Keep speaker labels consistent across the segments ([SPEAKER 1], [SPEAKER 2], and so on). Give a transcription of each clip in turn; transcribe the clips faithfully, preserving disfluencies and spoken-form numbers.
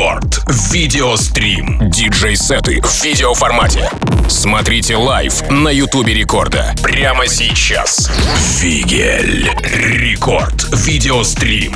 [SPEAKER 1] Рекорд. Видеострим. Диджей-сеты в видеоформате. Смотрите лайв на Ютубе Рекорда. Прямо сейчас. Вигель. Рекорд. Видеострим.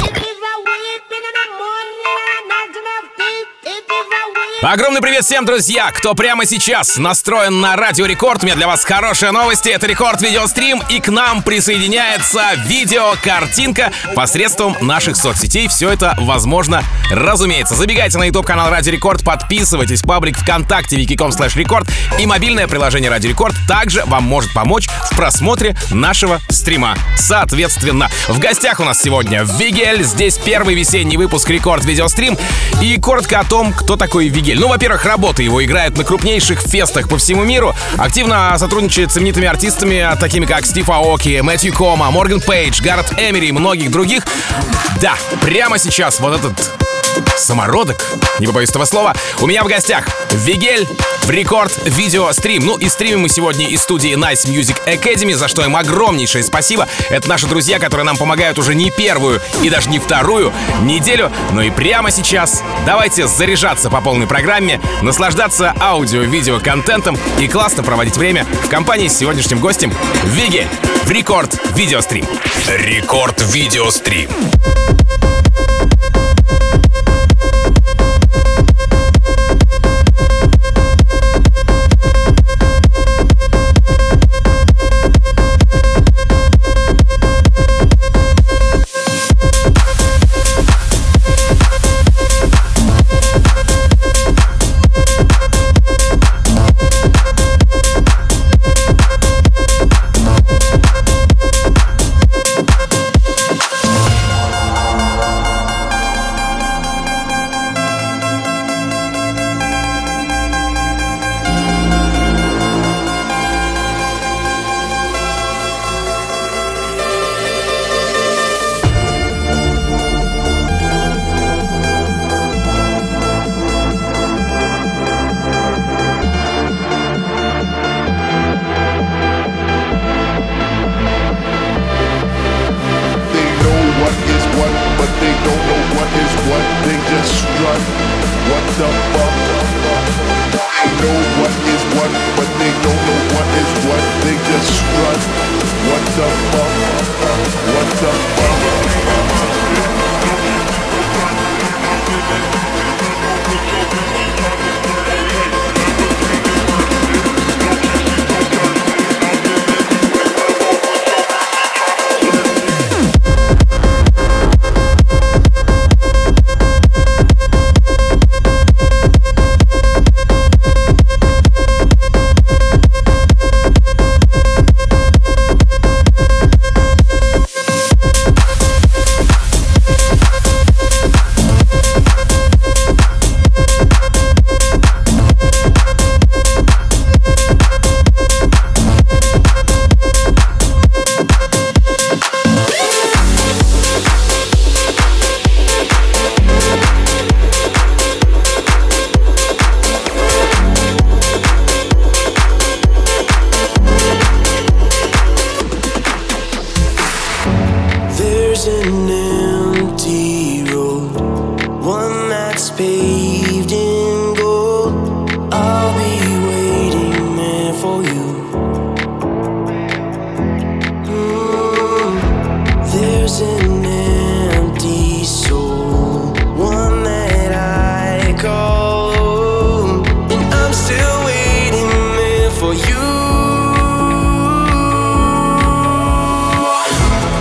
[SPEAKER 2] Огромный привет всем, друзья, кто прямо сейчас настроен на Радио Рекорд. У меня для вас хорошие новости. Это Рекорд Видеострим, и к нам присоединяется видеокартинка посредством наших соцсетей. Все это возможно, разумеется. Забегайте на YouTube-канал Радио Рекорд, подписывайтесь, паблик ВКонтакте вики точка ком слэш рекорд, и мобильное приложение Радио Рекорд также вам может помочь в просмотре нашего стрима. Соответственно, в гостях у нас сегодня Вигель. Здесь первый весенний выпуск Рекорд Видеострим. И коротко о том, кто такой Вигель. Ну, во-первых, работы его играют на крупнейших фестах по всему миру. Активно сотрудничает с знаменитыми артистами, такими как Стив Аоки, Мэтью Кома, Морган Пейдж, Гаррет Эмери и многих других. Да, прямо сейчас вот этот самородок, не побоюсь этого слова, у меня в гостях Вигель в Рекорд Видеострим. Ну и стримим мы сегодня из студии Nice Music Academy, за что им огромнейшее спасибо. Это наши друзья, которые нам помогают уже не первую и даже не вторую неделю. Ну и прямо сейчас давайте заряжаться по полной программе, наслаждаться аудио-видео-контентом и классно проводить время в компании с сегодняшним гостем Вигель в Рекорд Видеострим.
[SPEAKER 1] Рекорд Видеострим.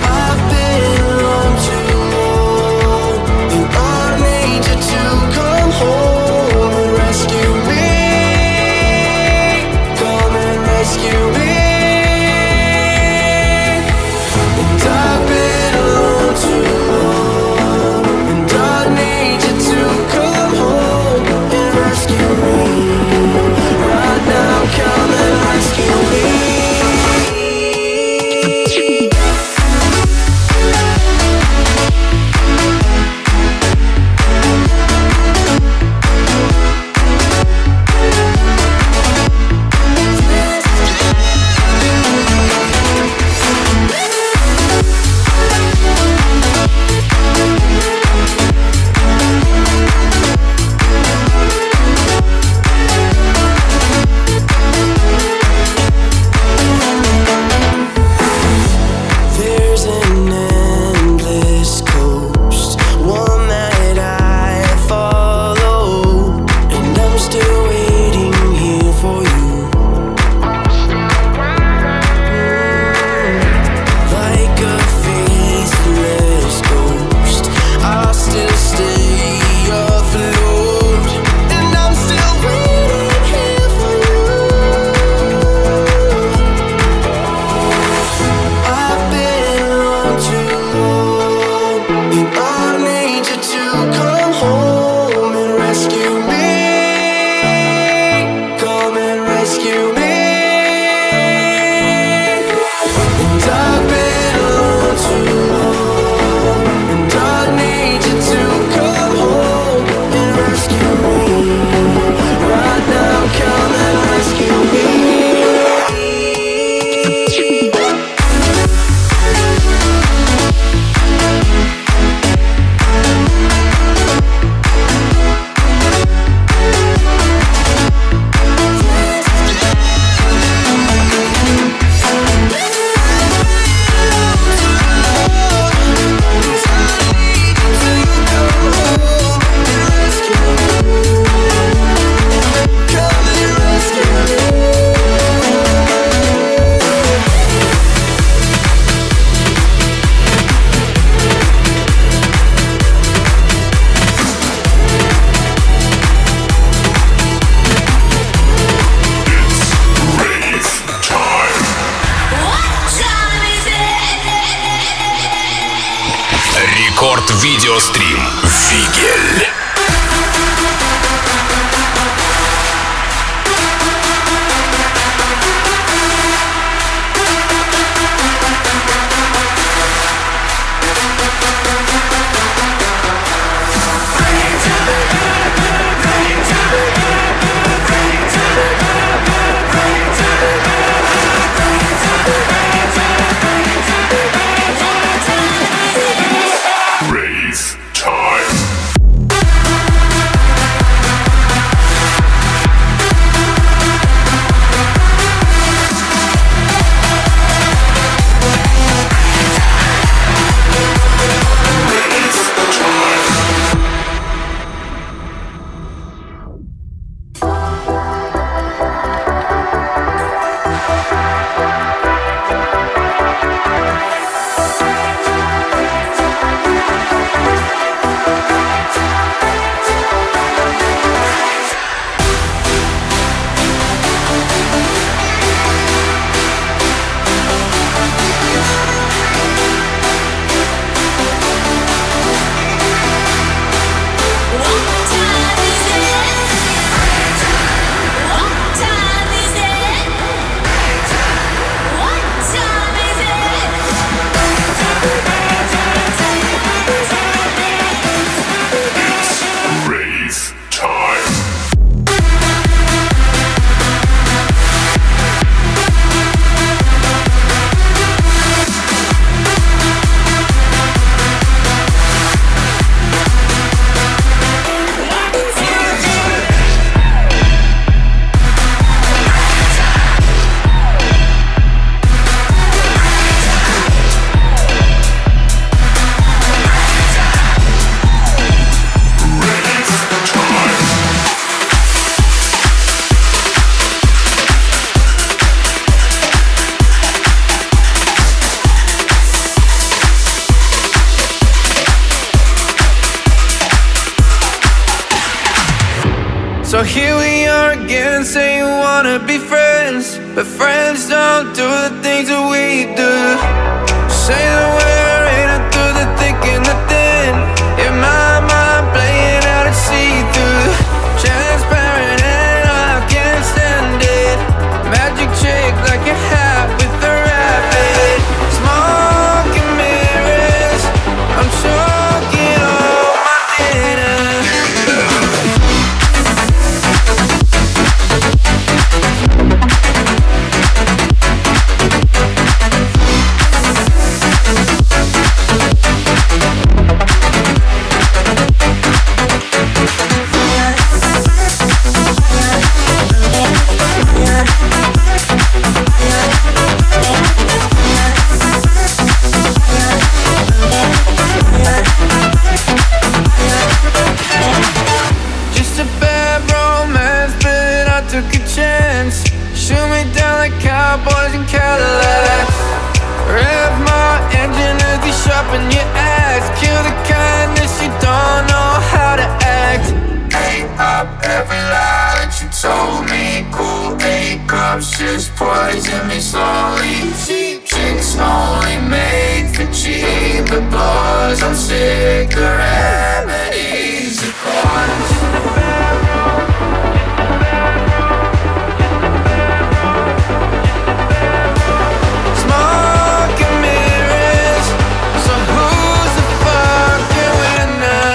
[SPEAKER 3] Come
[SPEAKER 1] Видеострим. Фигель.
[SPEAKER 3] So here we are again, saying you wanna be friends, but friends don't do the things that we do. Say that we're in it through the thick and the thin. In my mind, playing out and see through. Transparent and I can't stand it. Magic trick like a hat with a rabbit. Smoke and mirrors, I'm choking on my dinner. Just a bad romance, but I took a chance. Shoot me down like cowboys and Cadillacs. Rev my engine as you sharpen your axe. Kill the kindness, you don't know how to act.
[SPEAKER 4] Ate up every lie that you told me. Cool eight cups just poison me slowly. Cheap chicks only made for cheap applause. I'm sick of remedies. The cause.
[SPEAKER 3] Smoke and mirrors, so who's the fucking winner?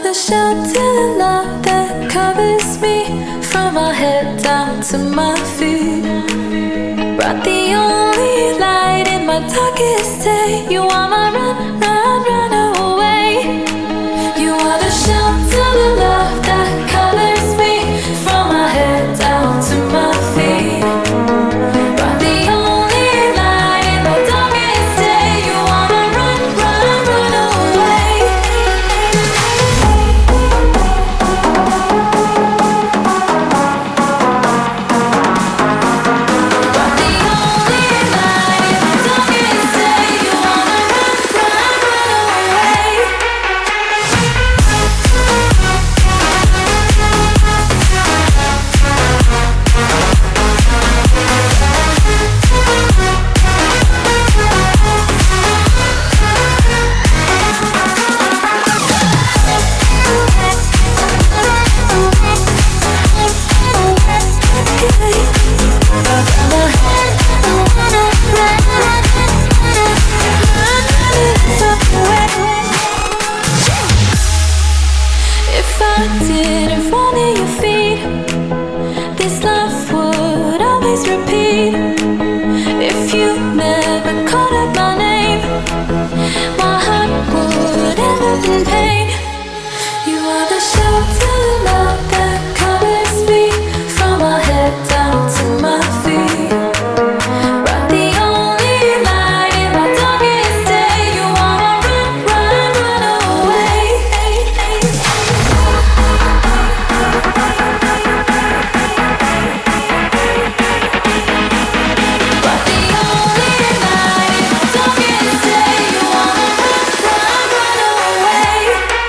[SPEAKER 5] the shelter and love that covers me from my head down to my feet. Brought the only light in my darkest day. You are my run, run, run away. You are the shelter and love that covers me from my head down to my feet. Brought the only light in my darkest day. You are my run, run, run away. Brought the only light in my darkest day. You are my run, run, run away. If I didn't fall near your feet, this life would always repeat. If you never called out my name, my heart would end up in pain. You are the shelter, love that covers me from my head down to my feet. Brought the only light in my darkest day. You are my run, run, run away. Brought the only light in my darkest day. You are my run, run, run away.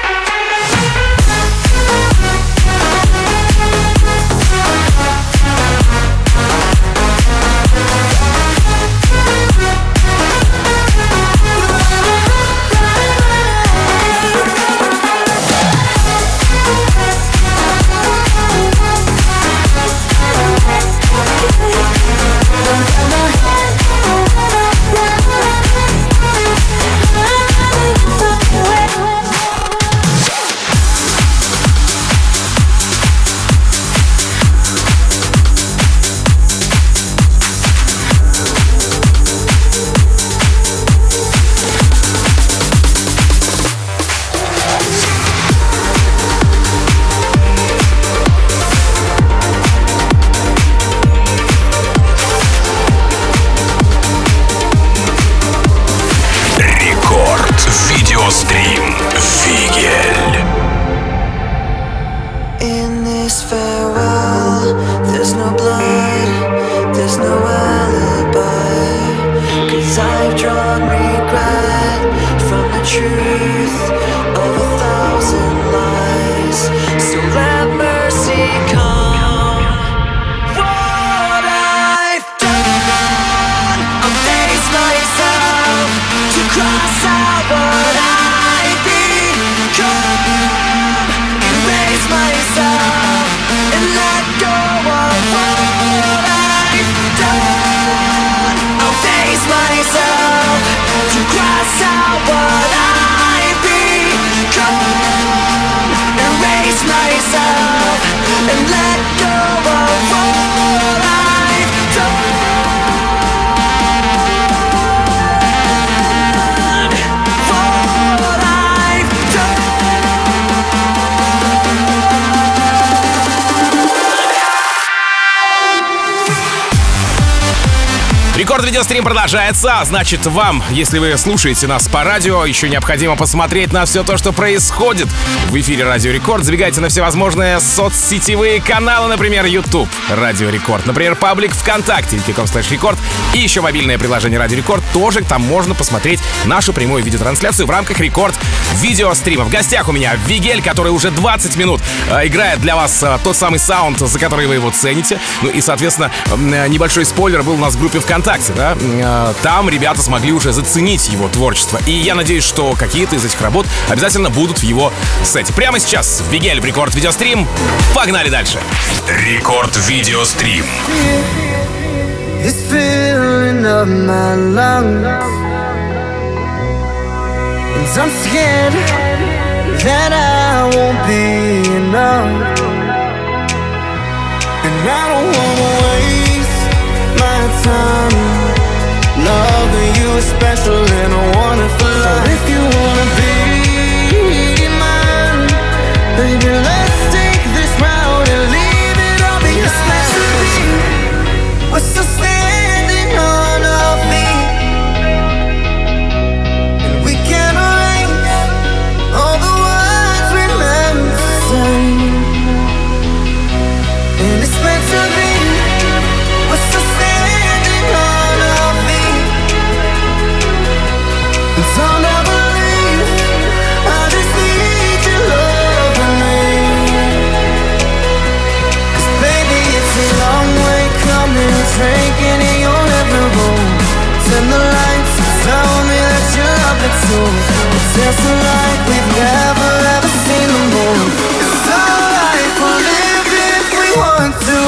[SPEAKER 1] Рекорд видеострим Фигель.
[SPEAKER 3] In this farewell, there's no blood, there's no alibi. Cause I've drawn regret from the truth of a thousand lies. So let mercy come. What I've done, I'll face myself to cross out what I've become. Erase myself and let go of what I've done. I'll face myself to cross out what I've become. Erase myself and let go of what I've done. What I've
[SPEAKER 2] Рекорд видеострим продолжается, а значит вам, если вы слушаете нас по радио, еще необходимо посмотреть на все то, что происходит в эфире Радио Рекорд. Забегайте на всевозможные соцсетевые каналы, например, YouTube Радио Рекорд, например, паблик ВКонтакте, викиком слэш рекорд, и еще мобильное приложение Радио Рекорд. Тоже там можно посмотреть нашу прямую видеотрансляцию в рамках Рекорд видеострима. В гостях у меня Вигель, который уже двадцать минут э, играет для вас э, тот самый саунд, за который вы его цените. Ну и, соответственно, э, небольшой спойлер был у нас в группе ВКонтакте. Да? Э, там ребята смогли уже заценить его творчество. И я надеюсь, что какие-то из этих работ обязательно будут в его сете. Прямо сейчас Вигель в Рекорд видеострим. Погнали дальше.
[SPEAKER 1] Рекорд видеострим.
[SPEAKER 3] It's filling up my lungs, and I'm scared that I won't be enough. And I don't wanna waste my time. Loving you is special and I want it for life. So if you wanna be mine, baby, let's take this route and leave it all behind. It's meant to be. We're still standing on our feet, and we can erase all the words we meant to say. And it's meant to be. We're still standing on our feet. It's all I believe. I just need your love and me. 'Cause baby, it's a long way coming, drinking in your living room. Turn the lights, tell me that you love me too. It's dancing like we've never ever seen the moon. It's alright, we'll live if we want to.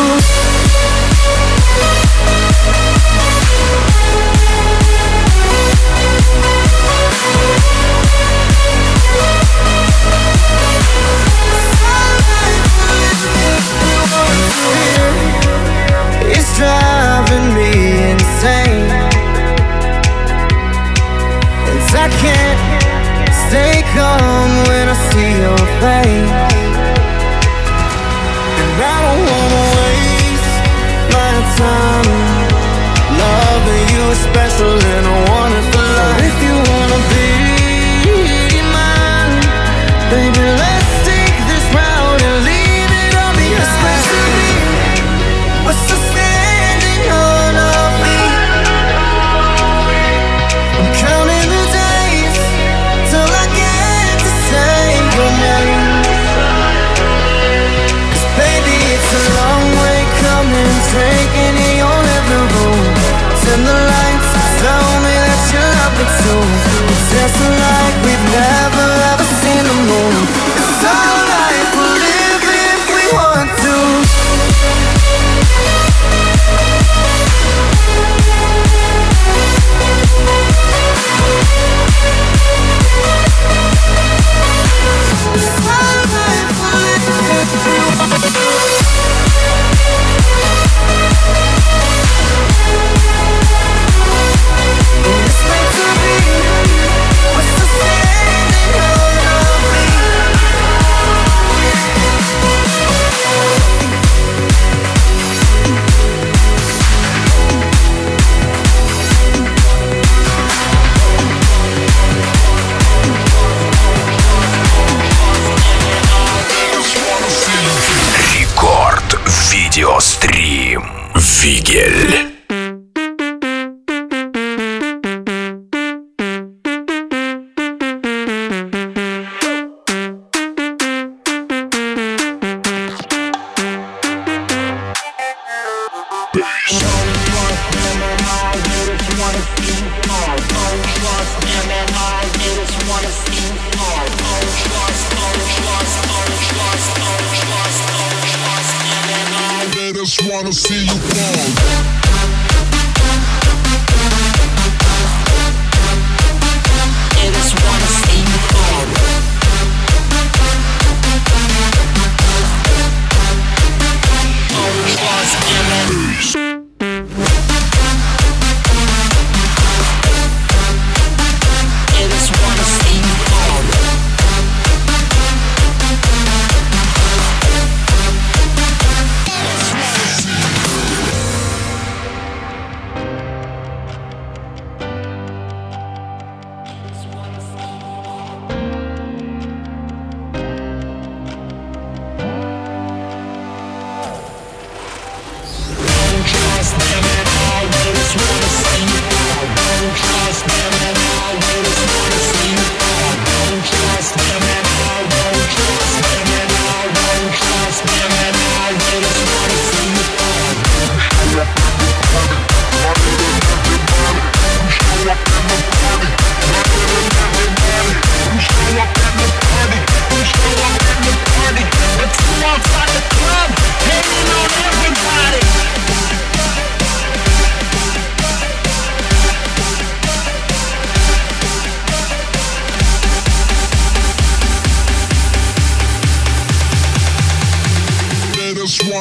[SPEAKER 3] It's driving me insane, and I can't stay calm when I see your face. And I don't wanna waste my time. Loving you is special and I want it for life. So if you wanna be mine, baby, let's take this route and leave it all behind. It's meant to be. We're still standing on our feet. I'm counting the days till I get to say your name. 'Cause baby, it's a long way coming, drinking in your living room. Turn the lights, tell me that you love me too. It's dancing like we've never ever seen the moon. It's alright, we'll live if we want to.
[SPEAKER 1] Видеострим Фигель.
[SPEAKER 6] Just wanna see you fall. I just wanna see you fall. Oh, trust me. I just wanna see you fall.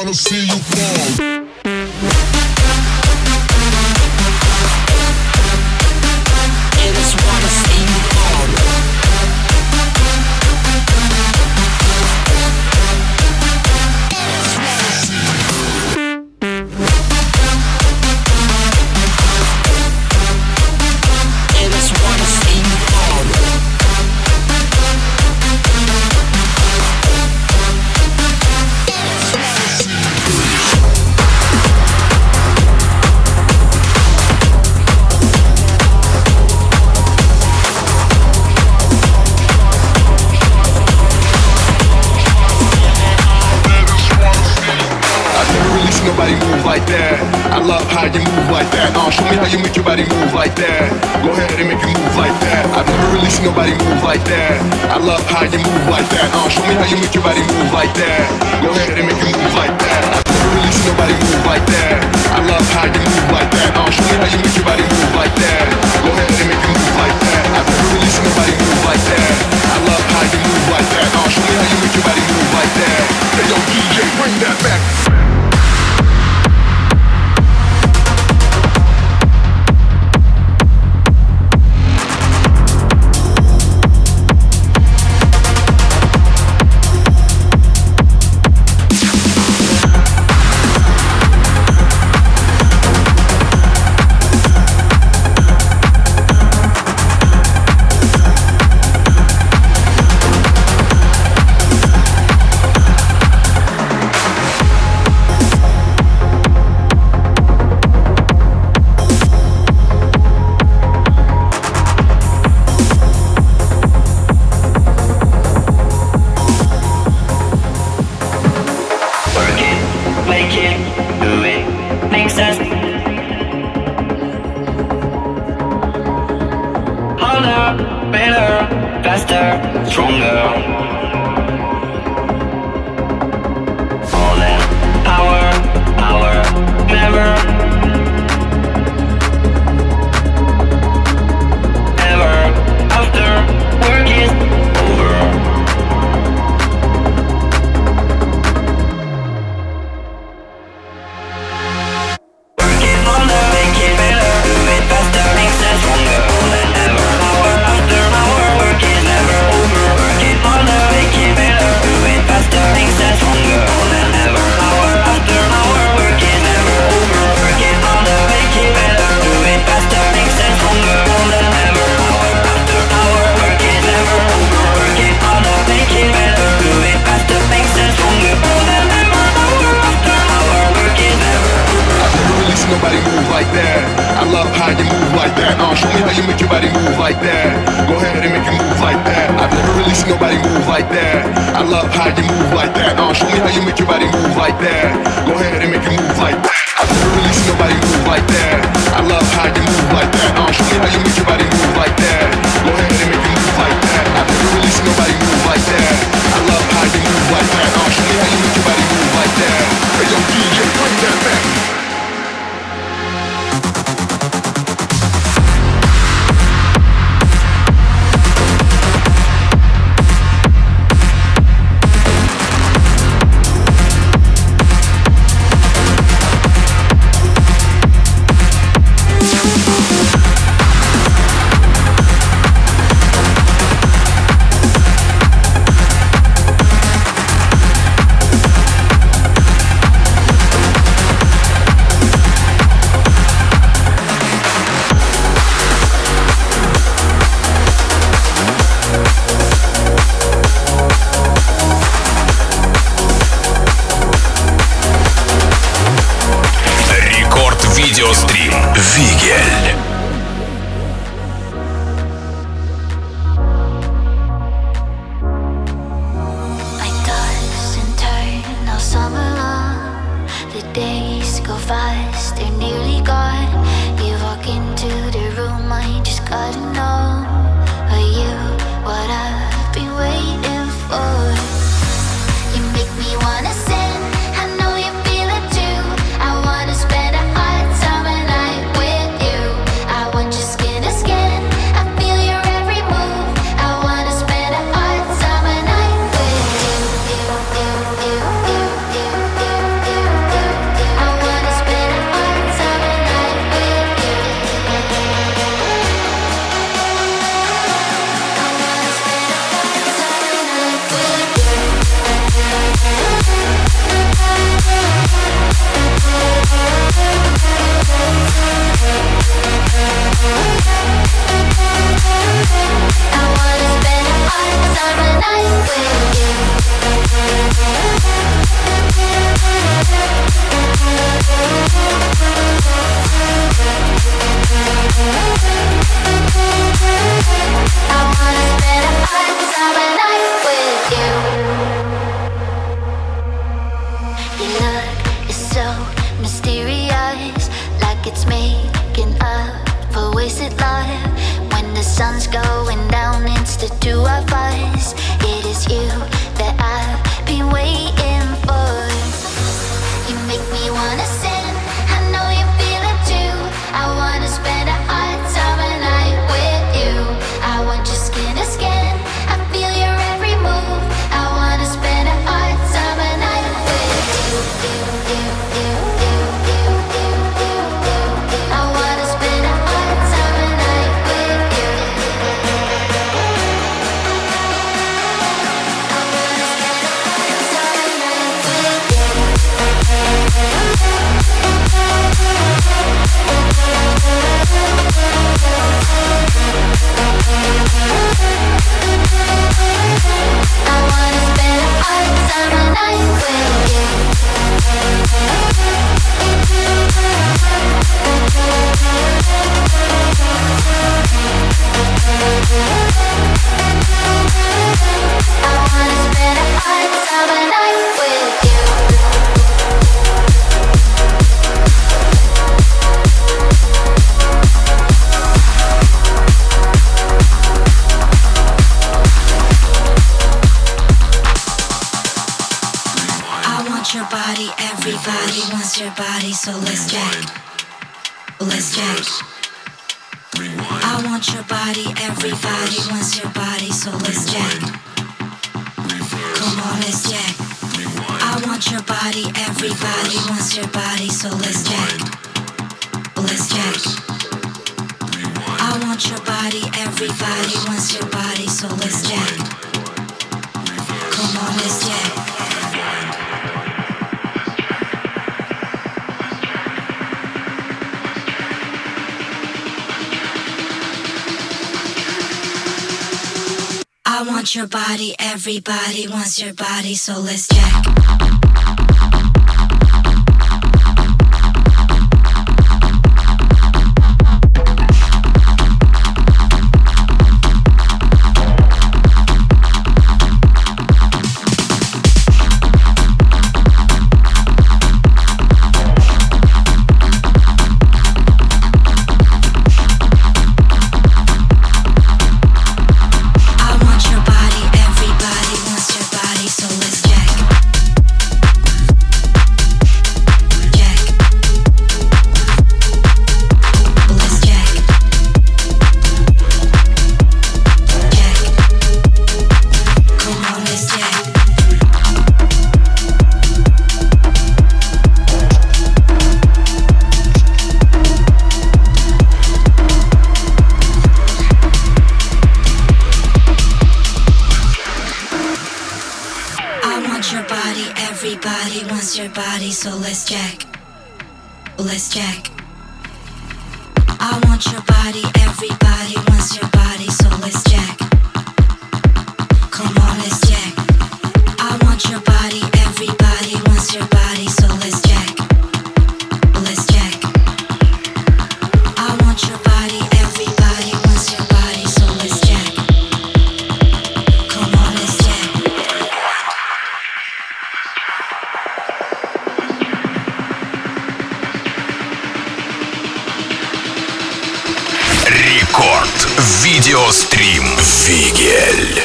[SPEAKER 7] wanna see you fall.
[SPEAKER 6] They just wanna see you fall. They just wanna see you fall.
[SPEAKER 7] Nobody move like that. I love how you move like that. Uh, show me how you make your body move like that. Go ahead and make it move like that. I've never really seen nobody move like that. I love how you move like that. Uh, show me how you make your body move like that. Go ahead and make it move like that. I've never really seen nobody move like that. I love how you move like that. Uh, show me how you make your body move like that. Go ahead and make it move like that. I've never really seen nobody move like that. I love how you move like that. Uh, show me how you make your body move like that. Hey yo, D J, bring that back.
[SPEAKER 5] is it love? When the sun's going down, it's the two of us. It is you that I've been waiting for. You make me wanna sin, I know you feel it too. I wanna spend a hot summer night with you. I want your skin to skin, I feel your every move. I wanna spend a hot summer night with you, you, you, you, you, you, you, you, you. I wanna spend a hot summer night with you. I wanna spend a hot summer night with you. I wanna spend a hot summer night with you. I wanna spend a hot summer night with you.
[SPEAKER 6] Your body, everybody wants your body, so let's jack. Let's jack. I want your body, everybody wants your body, so let's jack. Come on, let's jack. I want your body, everybody wants your body, so let's jack. Let's jack. I want your body, everybody wants your body, so let's jack. Come on, let's jack. I want your body, everybody wants your body, so let's jack. Your body, so let's jack. Let's jack. I want your body, everybody wants your body, so let's jack. Come on, let's jack. I want your body, everybody wants your body, so let's jack. Let's jack. I want your body, everybody wants your body, so let's jack. Come on, let's jack.
[SPEAKER 1] Видеострим Вигель.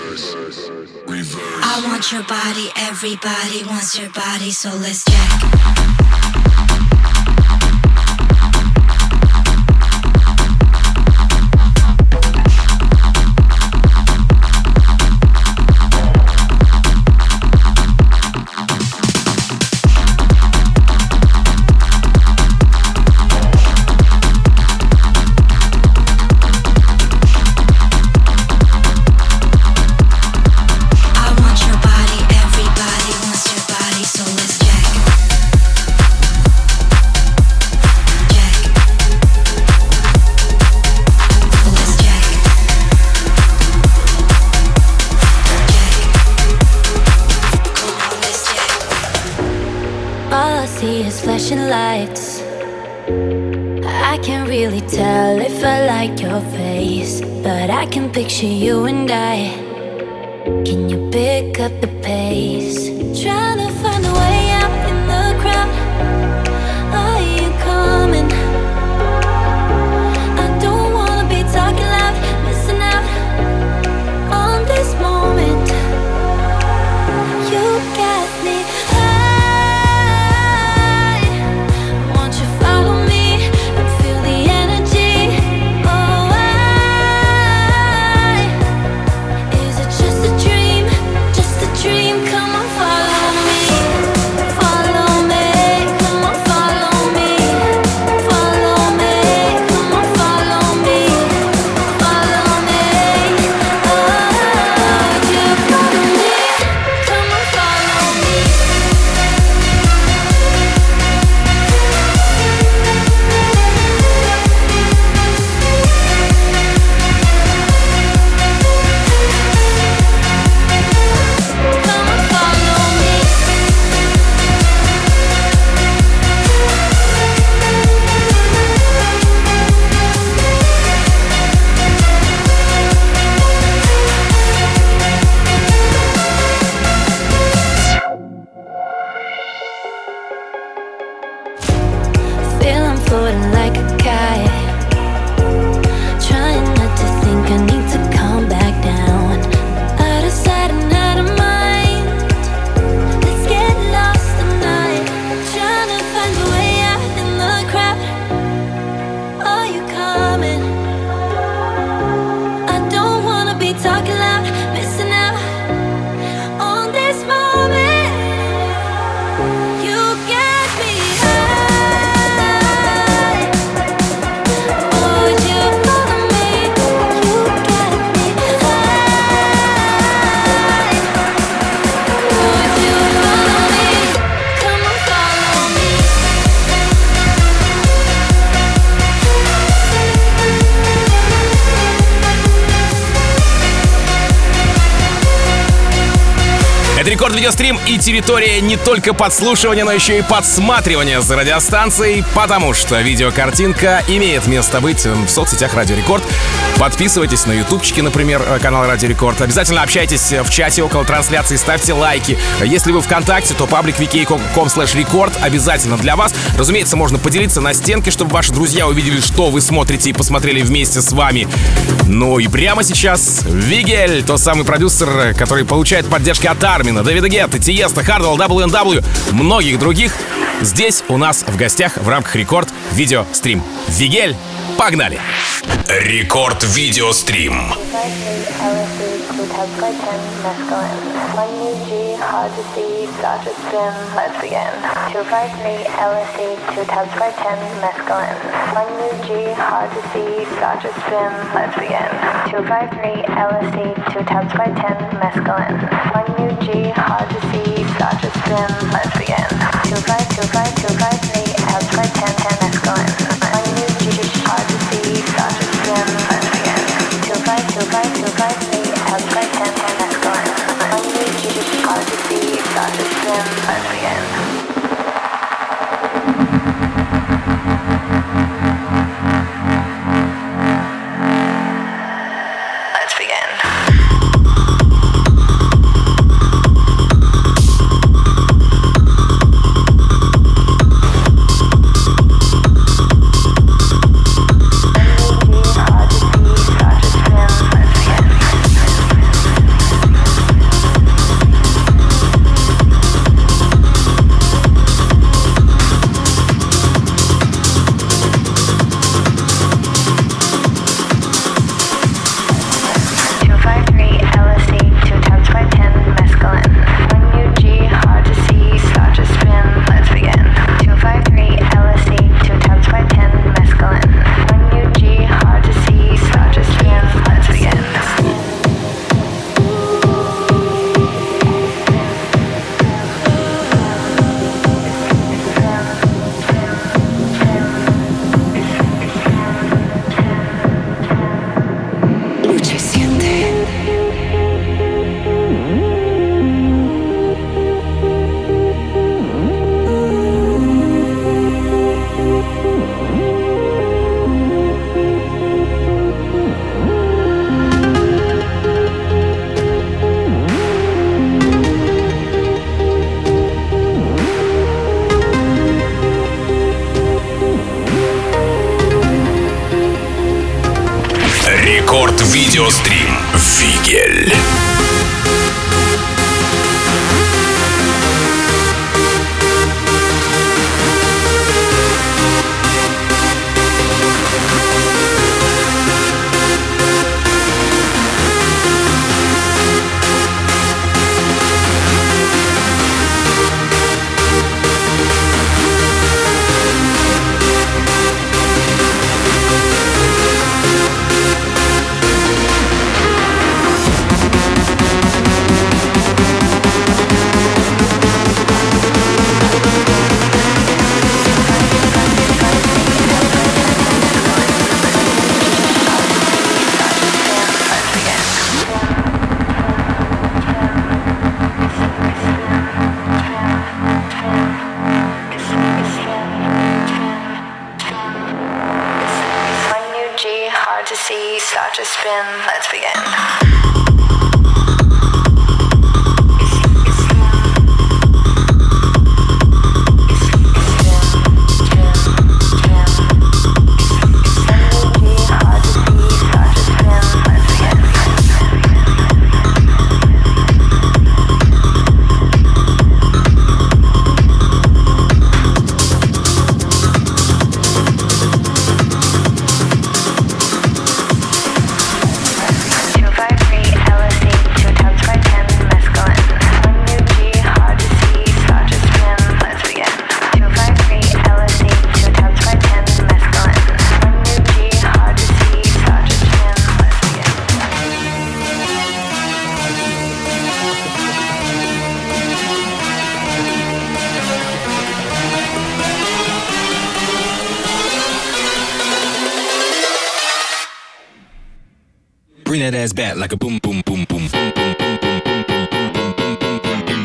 [SPEAKER 6] I want your body, everybody wants your body, so let's jack.
[SPEAKER 5] Flashing lights, I can't really tell if I like your face, but I can picture you and I. Can you pick up the pace? Trying to find a way out in the crowd. Are you coming? I don't
[SPEAKER 2] Это Рекорд Видеострим и территория не только подслушивания, но еще и подсматривания за радиостанцией, потому что видеокартинка имеет место быть в соцсетях Радио Рекорд. Подписывайтесь на ютубчике, например, канал Радио Рекорд. Обязательно общайтесь в чате около трансляции, ставьте лайки. Если вы ВКонтакте, то паблик ви кей точка ком слэш рекорд обязательно для вас. Разумеется, можно поделиться на стенке, чтобы ваши друзья увидели, что вы смотрите, и посмотрели вместе с вами. Ну и прямо сейчас Вигель, тот самый продюсер, который получает поддержки от Армина, Дэвида Гетта, Тиеста, Хардвелл, дабл ю эн дабл ю, многих других. Здесь у нас в гостях в рамках Рекорд Видеострим. Вигель, погнали!
[SPEAKER 1] Рекорд Видеострим. Рекорд Видеострим. Вигель.
[SPEAKER 8] Start to spin, let's begin.
[SPEAKER 9] Bring that ass back like a boom, boom, boom, boom, boom, boom, boom, boom, boom, boom, boom, boom, boom, boom.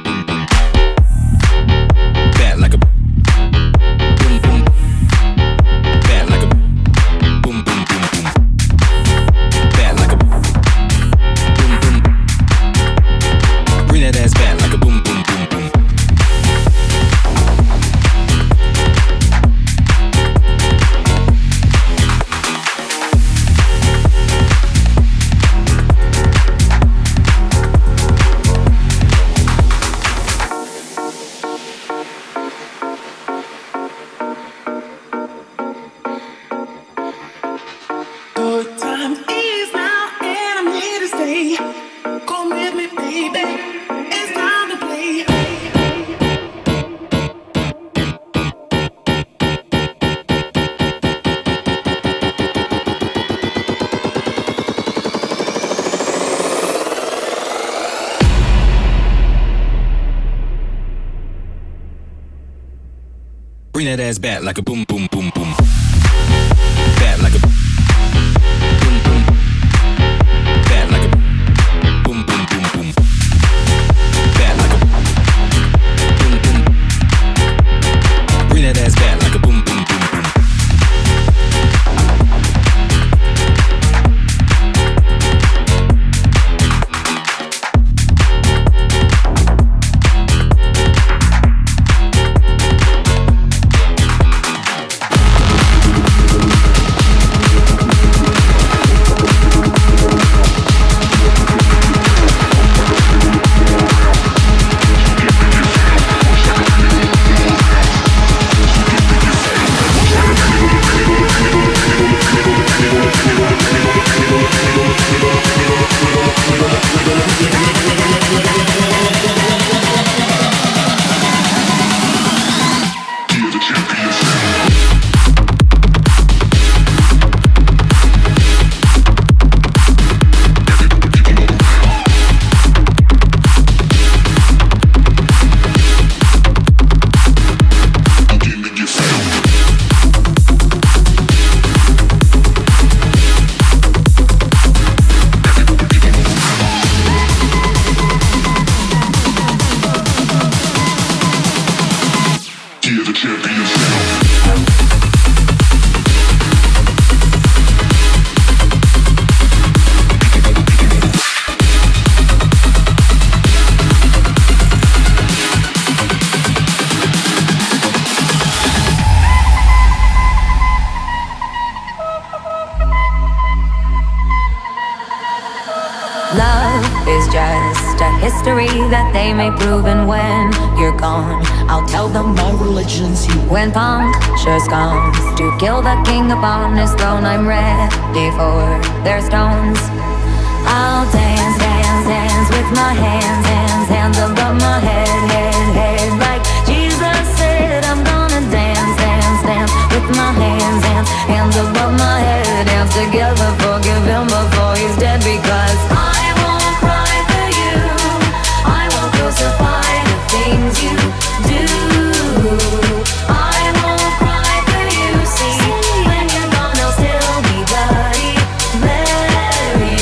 [SPEAKER 2] Bring that ass back like a boom, boom, boom, boom. Back like a boom, boom. Back like a boom, boom, boom, boom. Back like a boom, boom. Bring that ass back like a boom, boom, boom, boom.
[SPEAKER 9] That they may prove, and when you're gone, I'll tell them my religion's you. When punctures comes to kill the king upon his throne, I'm ready for their stones. I'll dance, dance, dance with my hands, hands, hands above my head, head, head. Like Jesus said, I'm gonna dance, dance, dance with my hands, hands, hands above my head. Dance together, forgive him before he's dead, because I won't cry for you. I won't crucify the things you do. I won't cry for you, see. When you're gone, I'll still be bloody Mary.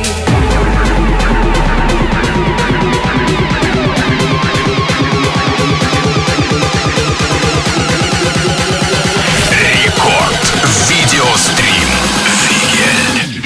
[SPEAKER 1] Рекорд видеострим Фигель.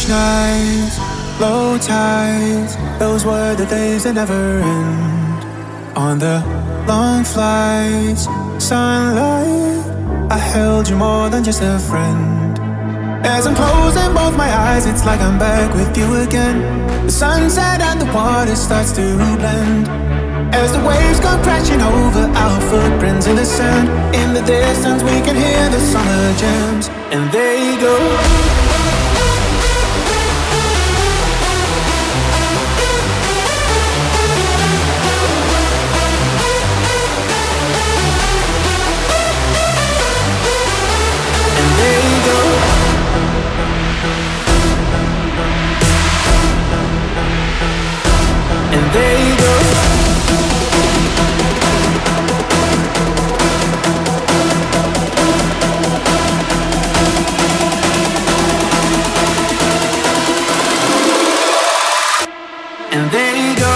[SPEAKER 10] Beach nights, low tides, those were the days that never end. On the long flights, sunlight, I held you more than just a friend. As I'm closing both my eyes, it's like I'm back with you again. The sunset and the water starts to blend. As the waves come crashing over our footprints in the sand. In the distance we can hear the summer jams. And they go. And they go. And there you go.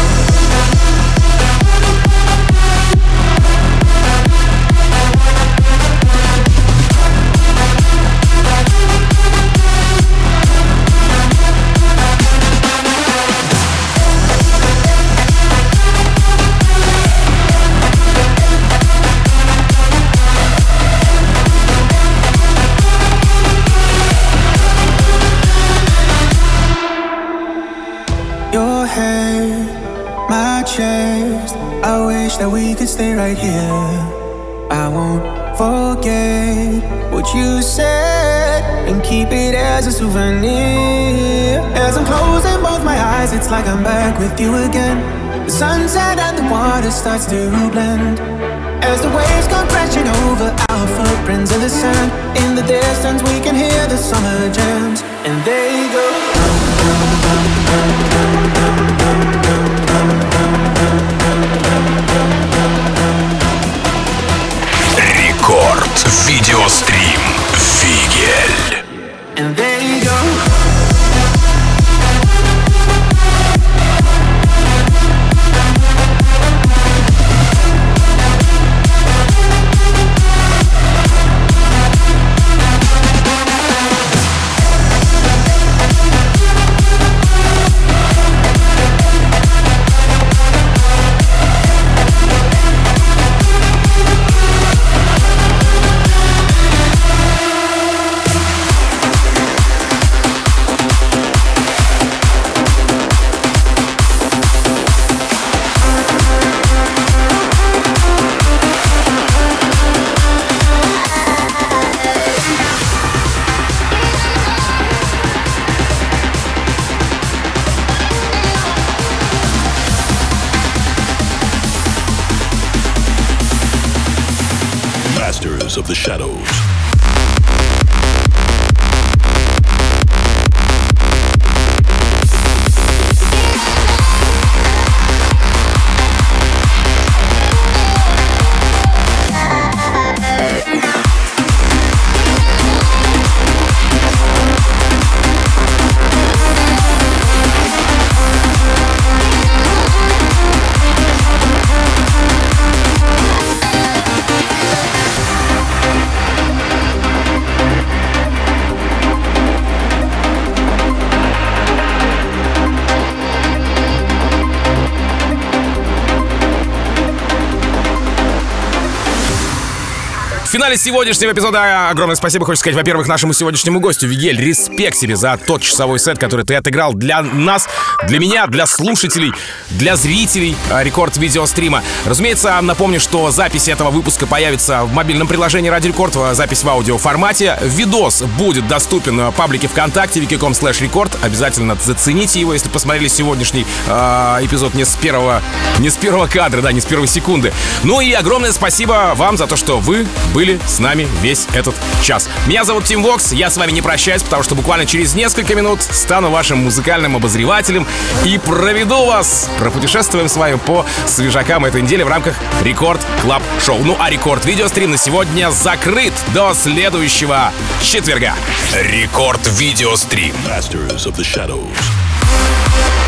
[SPEAKER 10] Your hair, my chest, I wish that we could stay right here. I won't forget what you said and keep it as a souvenir. As I'm closing both my eyes, it's like I'm back with you again. The sunset and the water starts to blend. As the waves come crashing over our footprints in the sand. In the distance we can hear the summer jams. And they go.
[SPEAKER 1] Рекорд видеострим Фигель.
[SPEAKER 10] And there you go.
[SPEAKER 11] Masters of the Shadows.
[SPEAKER 2] В финале сегодняшнего эпизода огромное спасибо хочу сказать, во-первых, нашему сегодняшнему гостю. Вигель, респект тебе за тот часовой сет, который ты отыграл для нас, для меня, для слушателей, для зрителей рекорд-видеострима. Разумеется, напомню, что запись этого выпуска появится в мобильном приложении Радио Рекорд, запись в аудиоформате. Видос будет доступен в паблике ВКонтакте вики точка ком слэш рекорд. Обязательно зацените его, если посмотрели сегодняшний э, эпизод не с первого, не с первого кадра, да, не с первой секунды. Ну и огромное спасибо вам за то, что вы были с нами весь этот час. Меня зовут Тим Вокс, я с вами не прощаюсь, потому что буквально через несколько минут стану вашим музыкальным обозревателем и проведу вас, пропутешествуем с вами по свежакам этой недели в рамках Рекорд Клаб Шоу. Ну а Рекорд Видеострим на сегодня закрыт до следующего четверга.
[SPEAKER 1] Рекорд Видеострим.
[SPEAKER 11] Masters of the Shadows.